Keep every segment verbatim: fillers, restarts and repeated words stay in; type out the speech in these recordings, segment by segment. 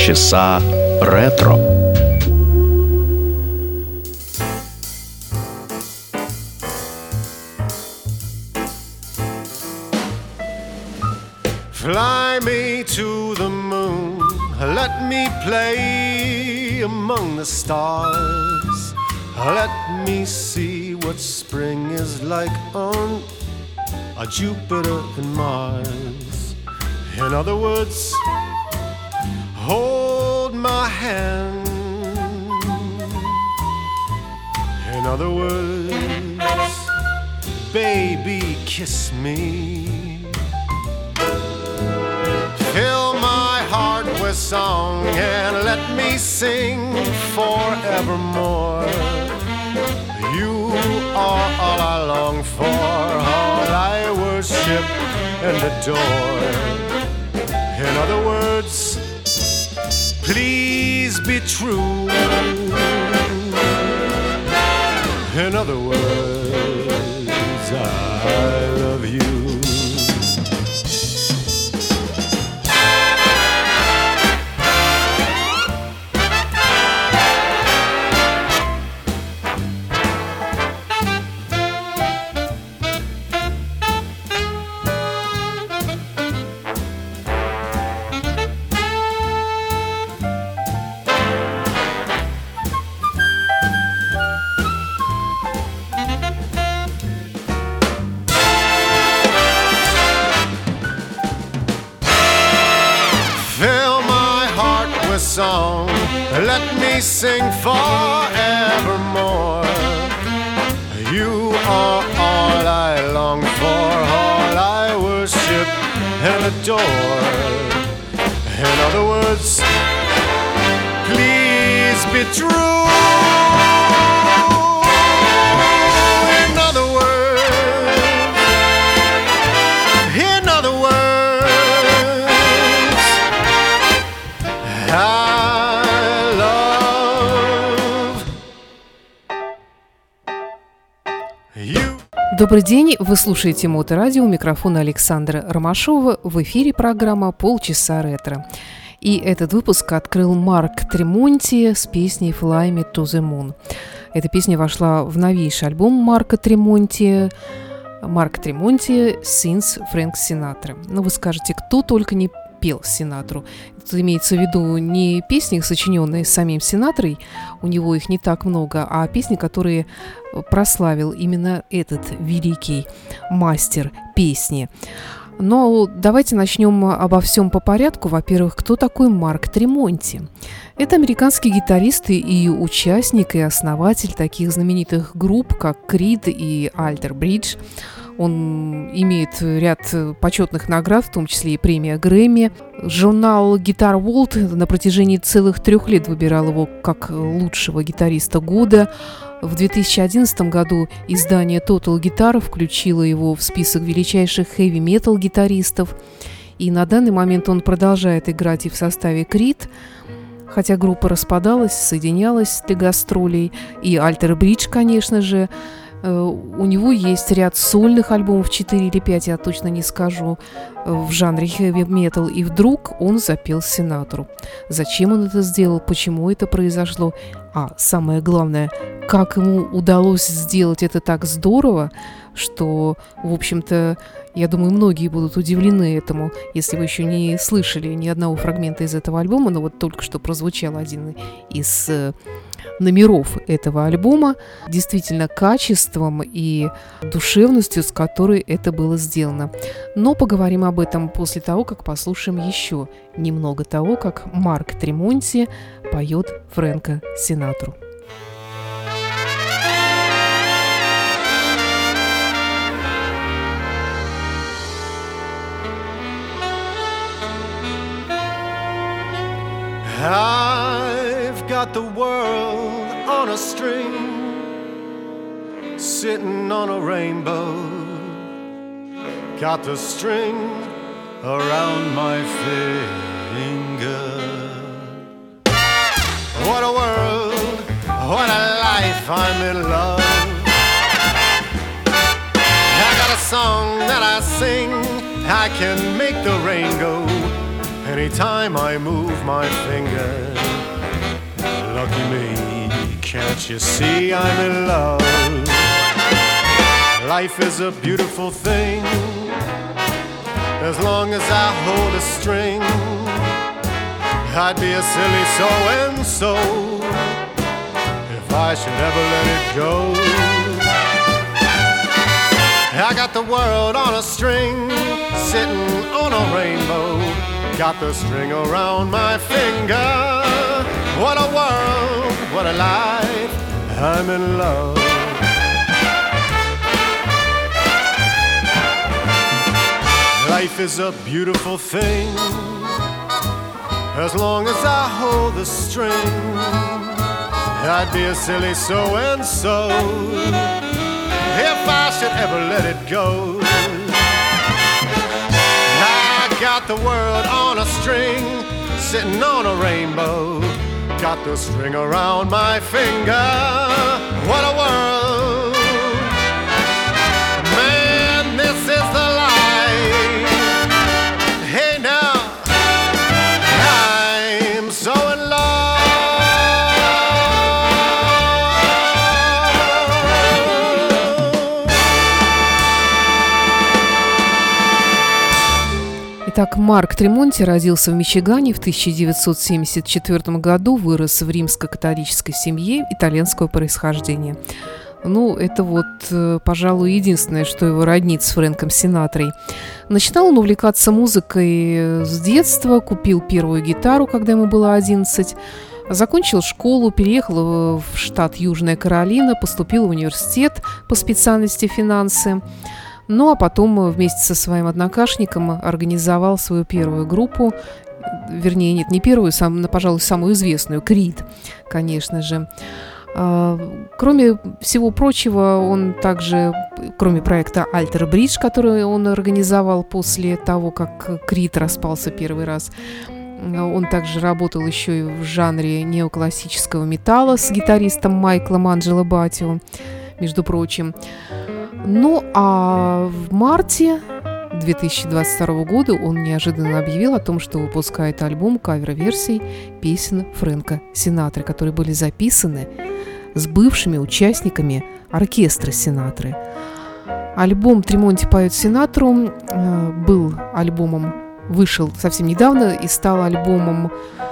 Полчаса ретро. Fly me to the moon, let me play among the stars. Let me see what spring is like on a Jupiter and Mars. In other words, hold my hand. In other words, baby, kiss me. Fill my heart with song and let me sing forevermore. You are all I long for, all I worship and adore. In other words, please be true. In other words, I love you. Song, let me sing forevermore. You are all I long for, all I worship and adore. In other words, please be true. In other words, in other words, I Добрый день, вы слушаете Моторадио, у микрофона Александра Ромашова, в эфире программа «Полчаса ретро». И этот выпуск открыл Марк Тремонти с песней «Fly Me to the Moon». Эта песня вошла в новейший альбом Марка Тремонти, Марк Тремонти «Since Frank Sinatra». Ну, вы скажете, кто только не пел Синатру. Тут имеется в виду не песни, сочиненные самим Синатрой, у него их не так много, а песни, которые прославил именно этот великий мастер песни. Но давайте начнем обо всем по порядку. Во-первых, кто такой Марк Тремонти? Это американский гитарист и участник, и основатель таких знаменитых групп, как Creed и Alter Bridge. Он имеет ряд почетных наград, в том числе и премия Грэмми. Журнал Guitar World на протяжении целых трех лет выбирал его как лучшего гитариста года. В две тысячи одиннадцатом году издание Total Guitar включило его в список величайших хэви-метал гитаристов. И на данный момент он продолжает играть и в составе Creed, хотя группа распадалась, соединялась для гастролей. И Alter Bridge, конечно же. У него есть ряд сольных альбомов, четыре или пять, я точно не скажу, в жанре хэви-метал. И вдруг он запел Синатру. Зачем он это сделал, почему это произошло, а самое главное, как ему удалось сделать это так здорово, что, в общем-то, я думаю, многие будут удивлены этому, если вы еще не слышали ни одного фрагмента из этого альбома, но вот только что прозвучал один из номеров этого альбома, действительно качеством и душевностью, с которой это было сделано. Но поговорим об этом после того, как послушаем еще немного того, как Марк Тремонти поет Фрэнка Синатру. I've got the world on a string, sitting on a rainbow. Got the string around my finger. What a world, what a life, I'm in love. I got a song that I sing, I can make the rain go, anytime I move my finger. Lucky me, can't you see I'm in love? Life is a beautiful thing, as long as I hold a string. I'd be a silly so-and-so if I should ever let it go. I got the world on a string, sitting on a rainbow. Got the string around my finger. What a world, what a life, I'm in love. Life is a beautiful thing, as long as I hold the string. I'd be a silly so-and-so if I should ever let it go. I got the world on a string, sitting on a rainbow. Got the string around my finger. What a world, man, this is the life. Hey now, I'm so in love. Итак, Марк Тремонти родился в Мичигане в тысяча девятьсот семьдесят четвёртом году, вырос в римско-католической семье итальянского происхождения. Ну, это вот, пожалуй, единственное, что его роднит с Фрэнком Синатрой. Начинал он увлекаться музыкой с детства, купил первую гитару, когда ему было одиннадцать, закончил школу, переехал в штат Южная Каролина, поступил в университет по специальности финансы. Ну, а потом вместе со своим однокашником организовал свою первую группу, вернее, нет, не первую, сам, пожалуй, самую известную, Крид, конечно же. Кроме всего прочего, он также, кроме проекта «Альтер Бридж», который он организовал после того, как Крид распался первый раз, он также работал еще и в жанре неоклассического металла с гитаристом Майклом Анджело Батио, между прочим. Ну, а в марте две тысячи двадцать второго года он неожиданно объявил о том, что выпускает альбом кавер-версий песен Фрэнка Синатры, которые были записаны с бывшими участниками оркестра Синатры. Альбом «Тремонти поет Синатру» был альбомом, вышел совсем недавно и стал альбомом,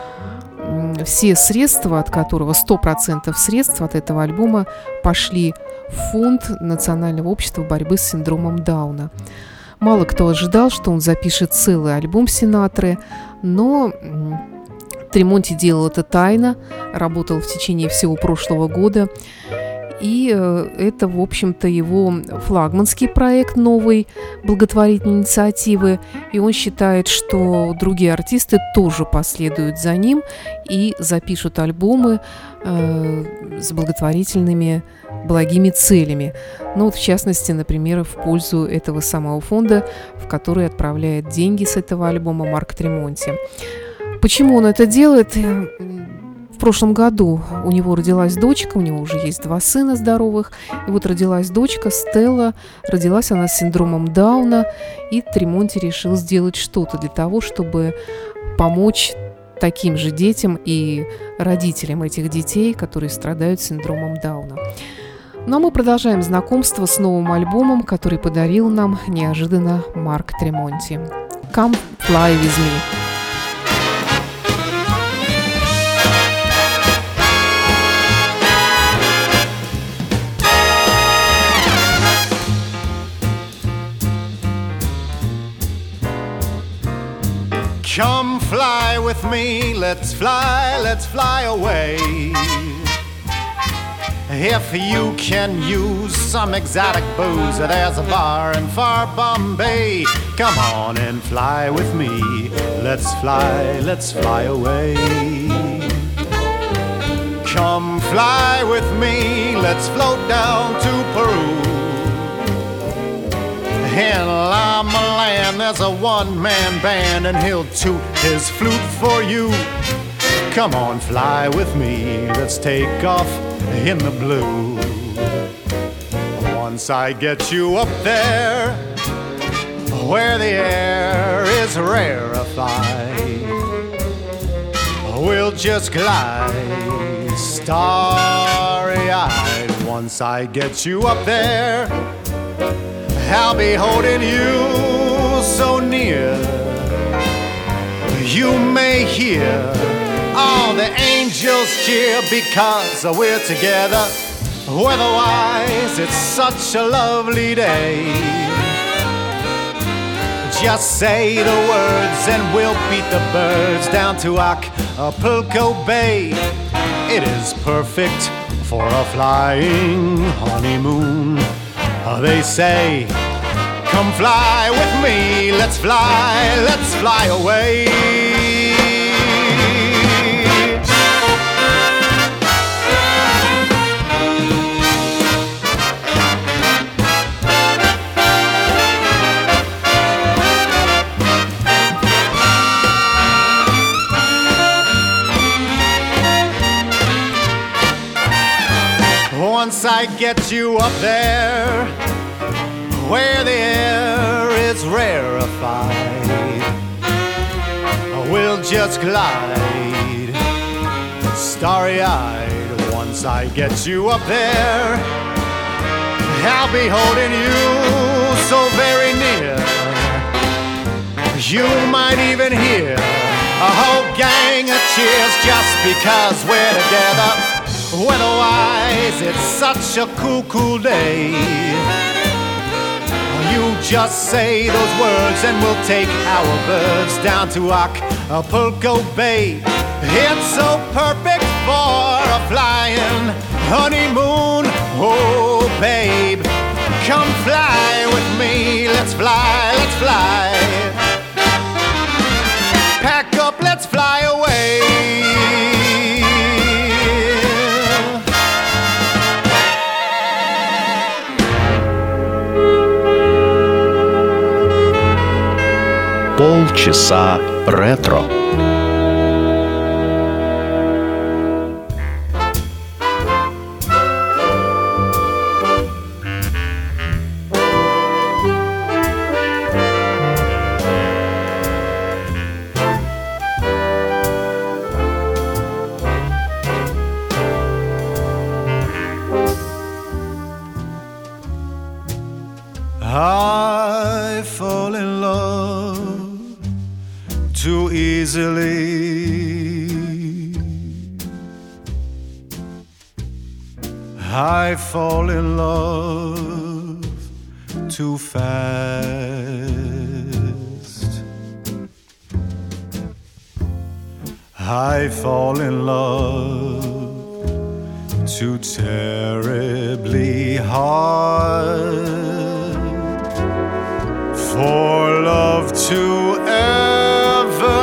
все средства от которого, сто процентов средств от этого альбома пошли в фонд Национального общества борьбы с синдромом Дауна. Мало кто ожидал, что он запишет целый альбом Синатры, но Тремонти делал это тайно, работал в течение всего прошлого года. И это, в общем-то, его флагманский проект новой благотворительной инициативы. И он считает, что другие артисты тоже последуют за ним и запишут альбомы э, с благотворительными благими целями. Ну, вот в частности, например, в пользу этого самого фонда, в который отправляет деньги с этого альбома Марк Тремонти. Почему он это делает? В прошлом году у него родилась дочка, у него уже есть два сына здоровых, и вот родилась дочка Стелла, родилась она с синдромом Дауна, и Тремонти решил сделать что-то для того, чтобы помочь таким же детям и родителям этих детей, которые страдают синдромом Дауна. Ну а мы продолжаем знакомство с новым альбомом, который подарил нам неожиданно Марк Тремонти. «Come Fly With Me». Come fly with me, let's fly, let's fly away. If you can use some exotic booze, there's a bar in far Bombay. Come on and fly with me, let's fly, let's fly away. Come fly with me, let's float down to Peru. In Lama Land there's a one-man band and he'll toot his flute for you. Come on, fly with me, let's take off in the blue. Once I get you up there, where the air is rarefied, just glide starry-eyed. Once I get you up there, I'll be holding you so near. You may hear all the angels cheer because we're together. Weather-wise, it's such a lovely day. Just say the words and we'll beat the birds down to Acapulco Bay. It is perfect for a flying honeymoon. They say, come fly with me, let's fly, let's fly away. Once I get you up there, where the air is rarefied, we'll just glide starry-eyed. Once I get you up there, I'll be holding you so very near. You might even hear a whole gang of cheers just because we're together. Weather-wise, it's such a cool, cool day. You just say those words and we'll take our birds down to Acapulco Bay. It's so perfect for a flying honeymoon. Oh, babe, come fly with me. Let's fly, let's fly. Pack up, let's fly away. Полчаса ретро. I fall in love too easily. I fall in love too fast. I fall in love too terribly hard for love to ever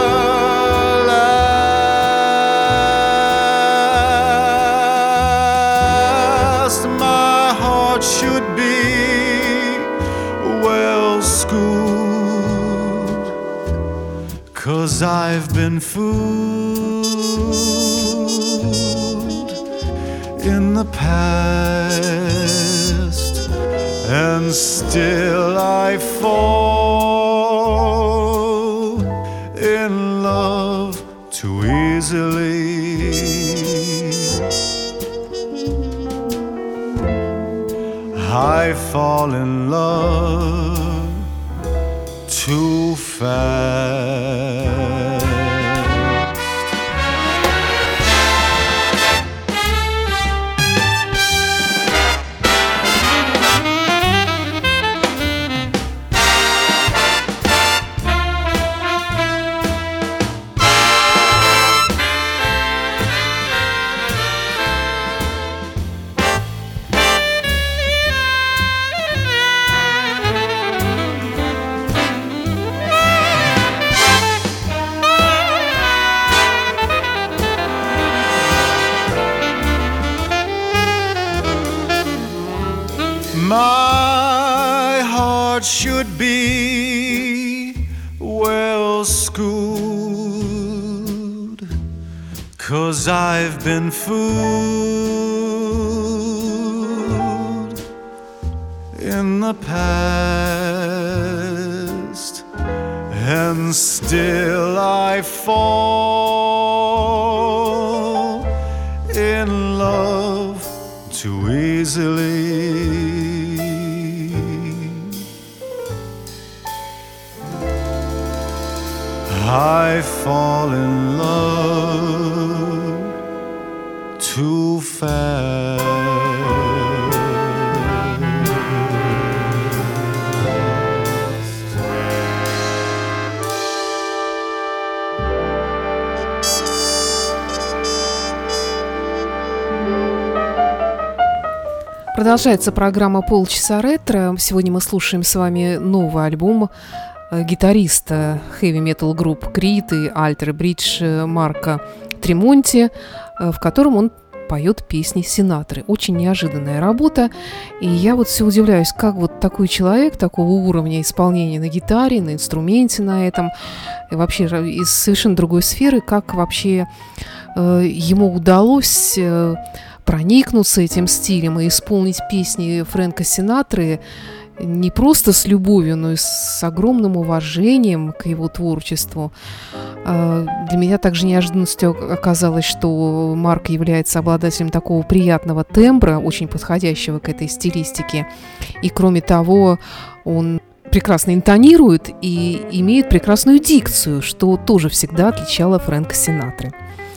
last. My heart should be well schooled, 'cause I've been fooled in the past, and still I fall in love too easily. I fall in love too fast. My heart should be well schooled, 'cause I've been fooled in the past, and still I fall easily. I fall in love too fast. Продолжается программа «Полчаса ретро». Сегодня мы слушаем с вами новый альбом гитариста хэви-метал групп Creed и Alter Bridge Марка Тремонти, в котором он поет песни Синатры. Очень неожиданная работа. И я вот все удивляюсь, как вот такой человек, такого уровня исполнения на гитаре, на инструменте на этом, и вообще из совершенно другой сферы, как вообще э, ему удалось э, проникнуться этим стилем и исполнить песни Фрэнка Синатры не просто с любовью, но и с огромным уважением к его творчеству. Для меня также неожиданностью оказалось, что Марк является обладателем такого приятного тембра, очень подходящего к этой стилистике. И кроме того, он прекрасно интонирует и имеет прекрасную дикцию, что тоже всегда отличало Фрэнка Синатры.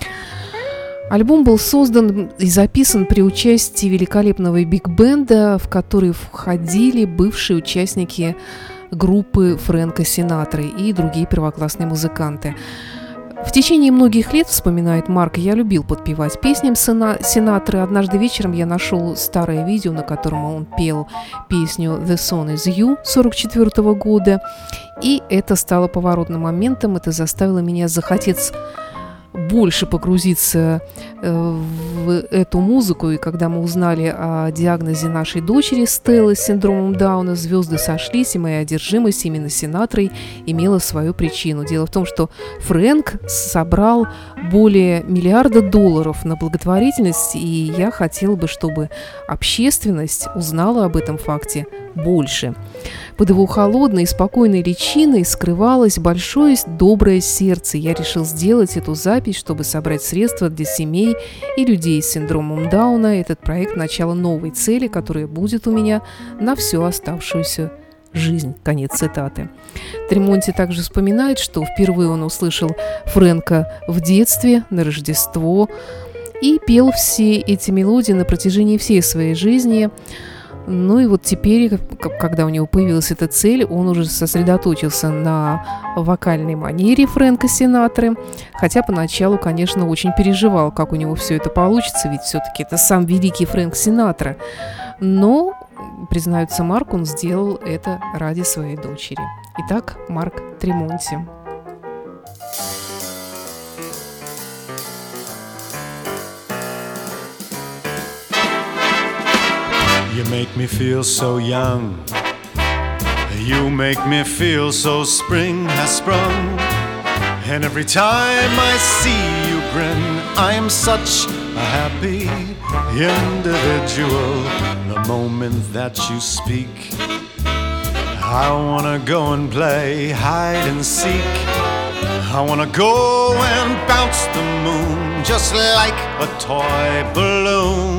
Альбом был создан и записан при участии великолепного биг-бенда, в который входили бывшие участники группы Фрэнка Синатры и другие первоклассные музыканты. В течение многих лет, вспоминает Марк, я любил подпевать песням Синатры. Однажды вечером я нашел старое видео, на котором он пел песню «The Song Is You» сорок четвёртого года, и это стало поворотным моментом, это заставило меня захотеть больше погрузиться в эту музыку. И когда мы узнали о диагнозе нашей дочери Стеллы с синдромом Дауна, звезды сошлись, и моя одержимость именно Синатрой имела свою причину. Дело в том, что Фрэнк собрал более миллиарда долларов на благотворительность, и я хотела бы, чтобы общественность узнала об этом факте больше. Под его холодной и спокойной личиной скрывалось большое доброе сердце. Я решил сделать эту запись, чтобы собрать средства для семей и людей с синдромом Дауна. Этот проект – начало новой цели, которая будет у меня на всю оставшуюся жизнь. Конец цитаты. Тремонти также вспоминает, что впервые он услышал Фрэнка в детстве, на Рождество, и пел все эти мелодии на протяжении всей своей жизни. Ну и вот теперь, когда у него появилась эта цель, он уже сосредоточился на вокальной манере Фрэнка Синатры, хотя поначалу, конечно, очень переживал, как у него все это получится, ведь все-таки это сам великий Фрэнк Синатра. Но, признается Марк, он сделал это ради своей дочери. Итак, Марк Тремонти. You make me feel so young. You make me feel so spring has sprung. And every time I see you grin, I am such a happy individual. The moment that you speak, I wanna go and play hide and seek. I wanna go and bounce the moon just like a toy balloon.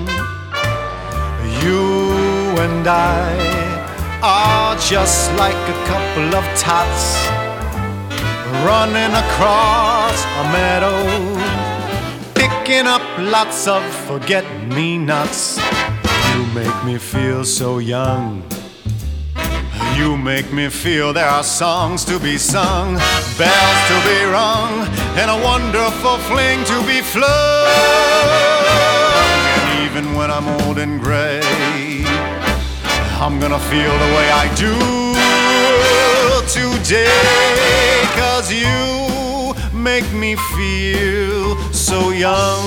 You and I are just like a couple of tots running across a meadow, picking up lots of forget-me-nots. You make me feel so young. You make me feel there are songs to be sung, bells to be rung, and a wonderful fling to be flung. Even when I'm old and gray, I'm gonna feel the way I do today. 'Cause you make me feel so young.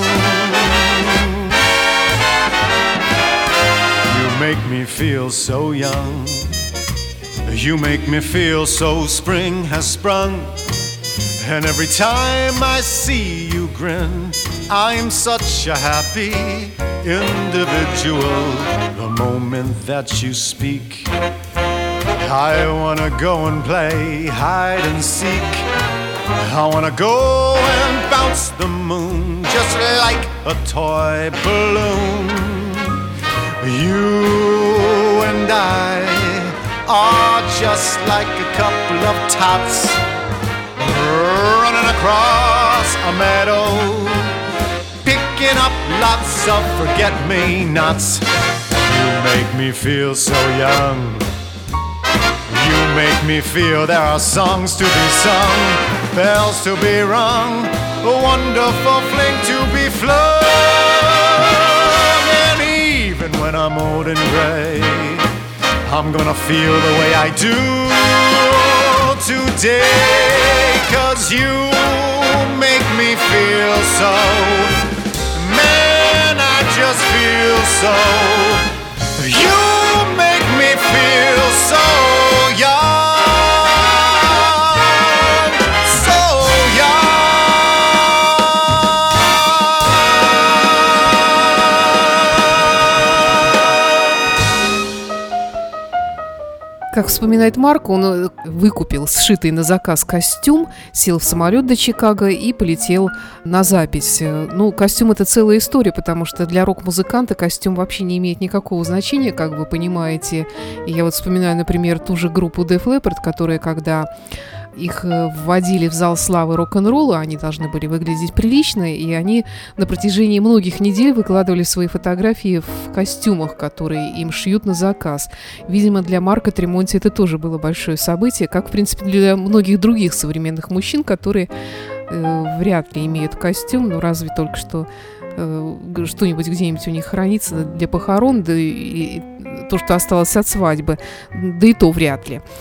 You make me feel so young. You make me feel so spring has sprung. And every time I see you grin, I'm such a happy individual. The moment that you speak, I wanna go and play hide and seek. I wanna go and bounce the moon just like a toy balloon. You and I are just like a couple of tots running across a meadow, picking up lots of forget-me-nots. You make me feel so young. You make me feel there are songs to be sung, bells to be rung, a wonderful fling to be flung. And even when I'm old and gray, I'm gonna feel the way I do today. 'Cause you make me feel so, man, I just feel so. You make me feel so young, so young. Как вспоминает Марк, он выкупил сшитый на заказ костюм, сел в самолет до Чикаго и полетел на запись. Ну, костюм – это целая история, потому что для рок-музыканта костюм вообще не имеет никакого значения, как вы понимаете. И я вот вспоминаю, например, ту же группу Def Leppard, которая, когда их вводили в зал славы рок-н-ролла, они должны были выглядеть прилично, и они на протяжении многих недель выкладывали свои фотографии в костюмах, которые им шьют на заказ. Видимо, для Марка Тремонти это тоже было большое событие, как, в принципе, для многих других современных мужчин, которые э, вряд ли имеют костюм, ну, разве только что э, что-нибудь где-нибудь у них хранится для похорон, да и, и то, что осталось от свадьбы, да и то вряд ли.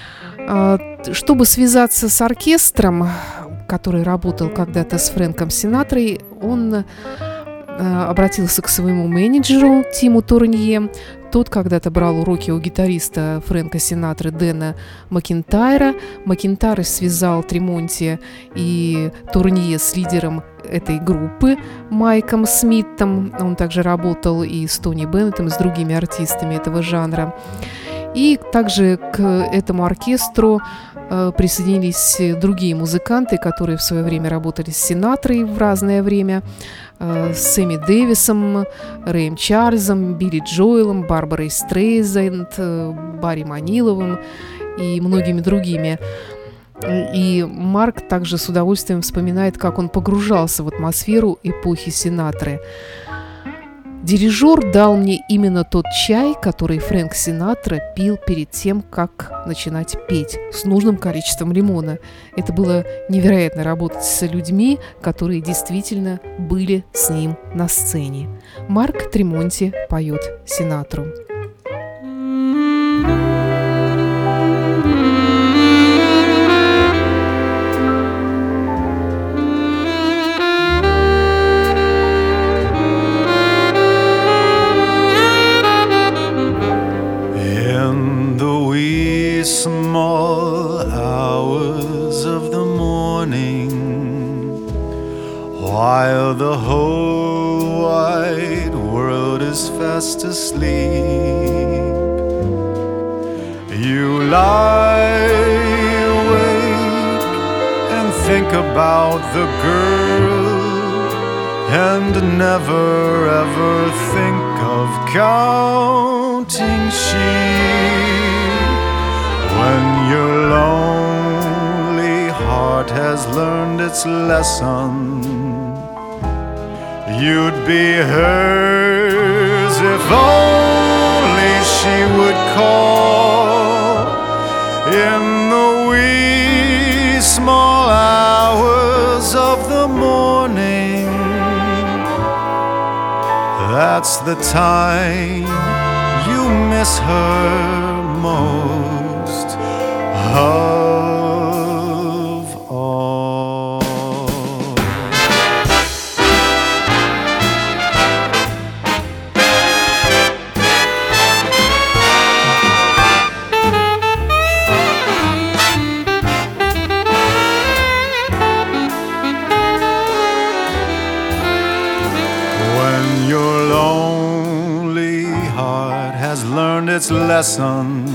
Чтобы связаться с оркестром, который работал когда-то с Фрэнком Синатрой, он обратился к своему менеджеру Тиму Турнье. Тот когда-то брал уроки у гитариста Фрэнка Синатры Дэна Макинтайра. Макинтайр связал Тремонти и Турнье с лидером этой группы Майком Смитом. Он также работал и с Тони Беннетом, и с другими артистами этого жанра. И также к этому оркестру э, присоединились другие музыканты, которые в свое время работали с Синатрой в разное время. Э, с Сэмми Дэвисом, Рэем Чарльзом, Билли Джоэлом, Барбарой Стрейзенд, э, Барри Маниловым и многими другими. И Марк также с удовольствием вспоминает, как он погружался в атмосферу эпохи Синатры. Дирижер дал мне именно тот чай, который Фрэнк Синатра пил перед тем, как начинать петь, с нужным количеством лимона. Это было невероятно работать с людьми, которые действительно были с ним на сцене. Марк Тремонти поет Синатру. Small hours of the morning, while the whole wide world is fast asleep, you lie awake and think about the girl, and never ever think of counting sheep. When your lonely heart has learned its lesson, you'd be hers if only she would call in the wee small hours of the morning. That's the time you miss her most of all. When your lonely heart has learned its lesson,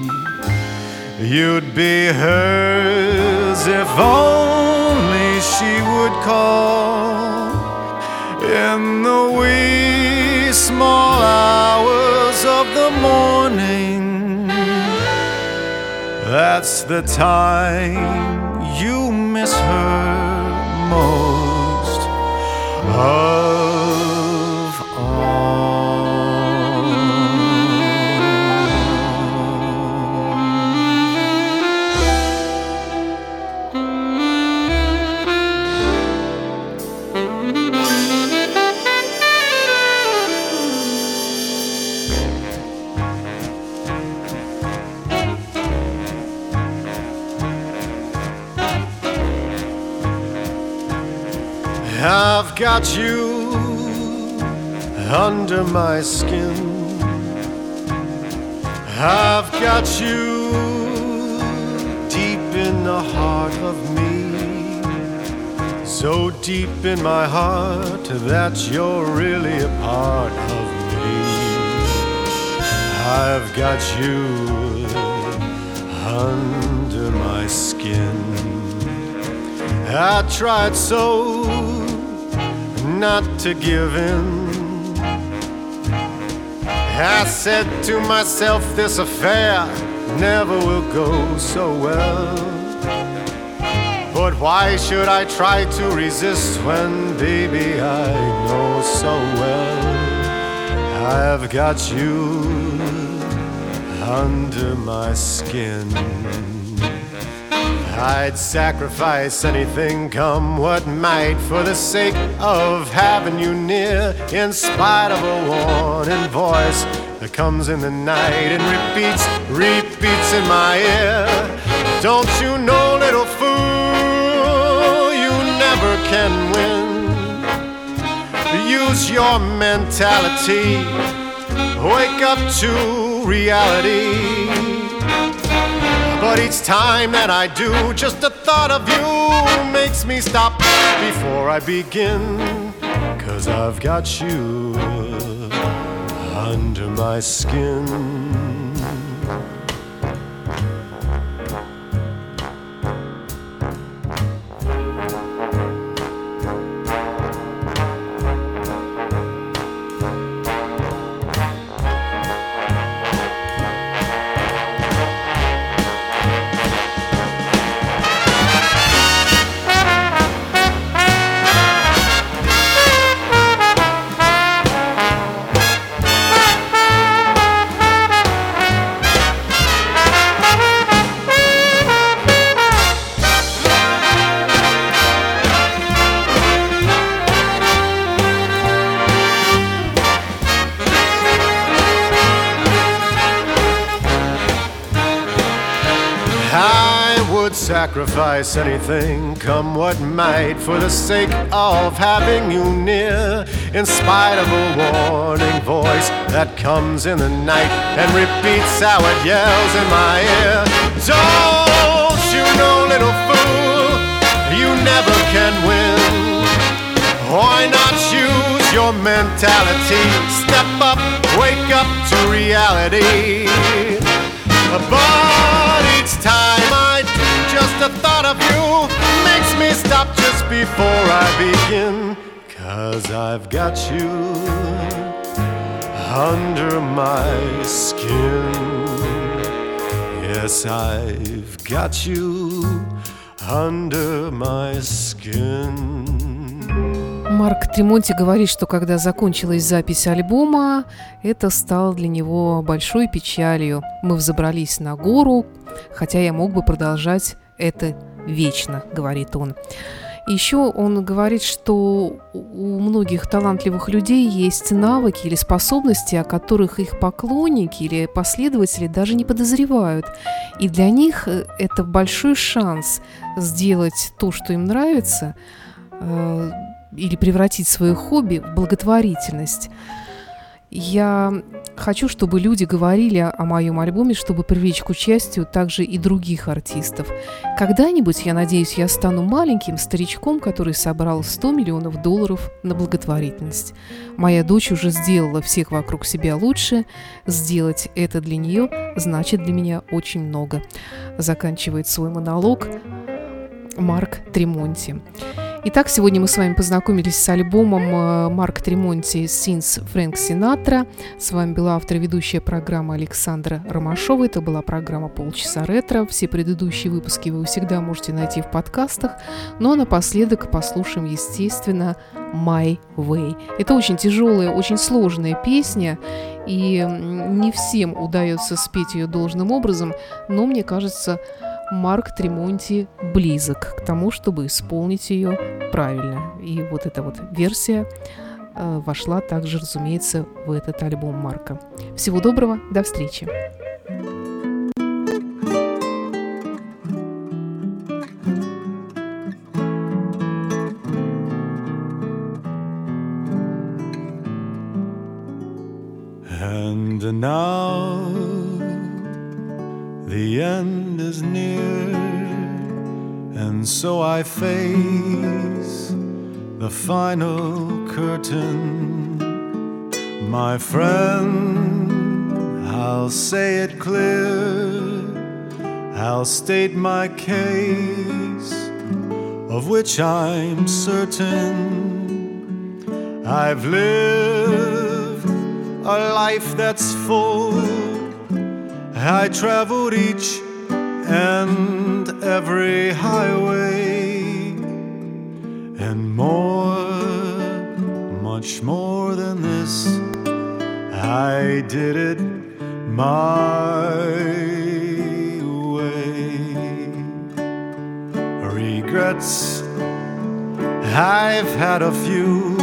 you'd be hers if only she would call in the wee small hours of the morning, that's the time you miss her most of all. I've got you under my skin. I've got you deep in the heart of me, so deep in my heart that you're really a part of me. I've got you under my skin. I tried so not to give in. I said to myself, this affair never will go so well. But why should I try to resist when, baby, I know so well I've got you under my skin. I'd sacrifice anything, come what might, for the sake of having you near, in spite of a warning voice that comes in the night and repeats, repeats in my ear. Don't you know, little fool, you never can win. Use your mentality, wake up to reality. But each time that I do, just the thought of you makes me stop before I begin. 'Cause I've got you under my skin. Sacrifice anything, come what might, for the sake of having you near, in spite of a warning voice that comes in the night and repeats how it yells in my ear. Don't you know, little fool, you never can win. Why not use your mentality? Step up, wake up to reality. But each time I do, just the thought of you makes me stop just before I begin. 'Cause I've got you under my skin. Yes, I've got you under my skin. Марк Тремонти говорит, что когда закончилась запись альбома, это стало для него большой печалью. Мы взобрались на гору, хотя я мог бы продолжать это вечно, говорит он. Еще он говорит, что у многих талантливых людей есть навыки или способности, о которых их поклонники или последователи даже не подозревают. И для них это большой шанс сделать то, что им нравится, или превратить свое хобби в благотворительность. Я хочу, чтобы люди говорили о моем альбоме, чтобы привлечь к участию также и других артистов. Когда-нибудь, я надеюсь, я стану маленьким старичком, который собрал сто миллионов долларов на благотворительность. Моя дочь уже сделала всех вокруг себя лучше. Сделать это для нее значит для меня очень много. Заканчивает свой монолог Марк Тремонти. Итак, сегодня мы с вами познакомились с альбомом Марка Тремонти «Since Frank Sinatra». С вами была автор и ведущая программы Александра Ромашова. Это была программа «Полчаса ретро». Все предыдущие выпуски вы всегда можете найти в подкастах. Ну а напоследок послушаем, естественно, «My Way». Это очень тяжелая, очень сложная песня, и не всем удается спеть ее должным образом, но мне кажется, Марк Тремонти близок к тому, чтобы исполнить ее правильно. И вот эта вот версия э, вошла также, разумеется, в этот альбом Марка. Всего доброго, до встречи. And now the end is near, and so I face the final curtain. My friend, I'll say it clear, I'll state my case, of which I'm certain. I've lived a life that's full. I traveled each and every highway, and more, much more than this, I did it my way. Regrets, I've had a few,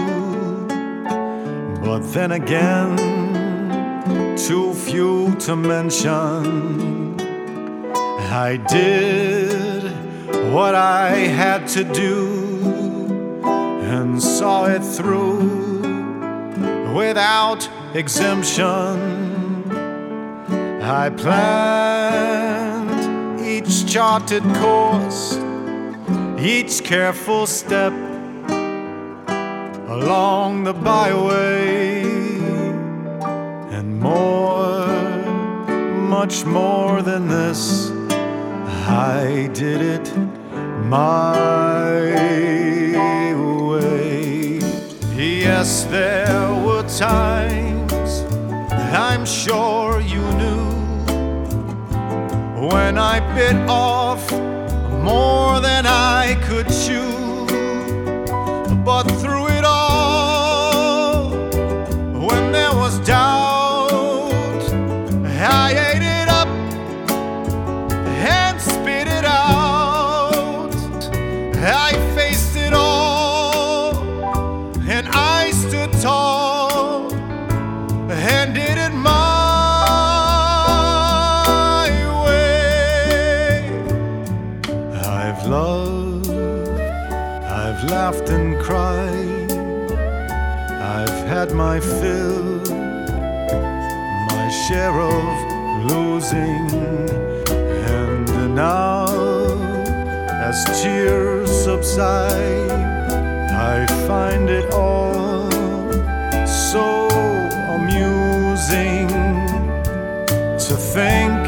but then again, too few to mention. I did what I had to do and saw it through without exemption. I planned each charted course, each careful step along the byway, and more, much more than this, I did it my way. Yes, there were times, I'm sure you knew, when I bit off more than I could chew. But through it all, when there was doubt, I ate it up and spit it out. I faced it all, and I stood tall and did it my way. I've loved, I've laughed and cried, I've had my fill, my share of losing, and now as tears subside, I find it all so amusing to think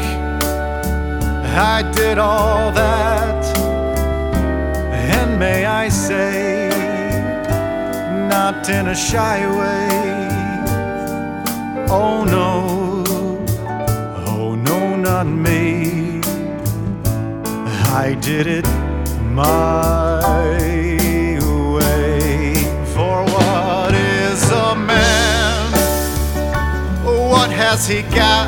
I did all that, and may I say, not in a shy way. Oh no, oh no, not me. I did it my way. For what is a man? What has he got,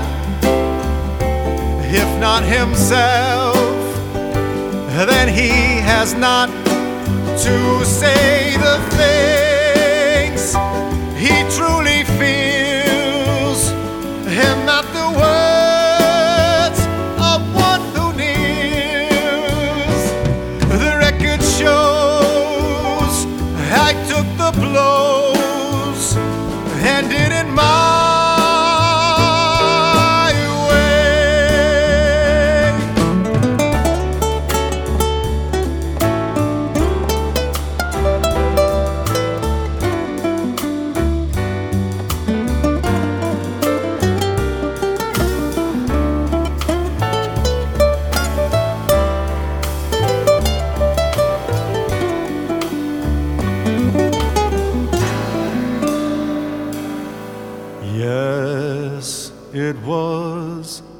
if not himself? Then he has not to say the things he truly feels, and not the words of one who kneels. The record shows I took the blows and did it my it was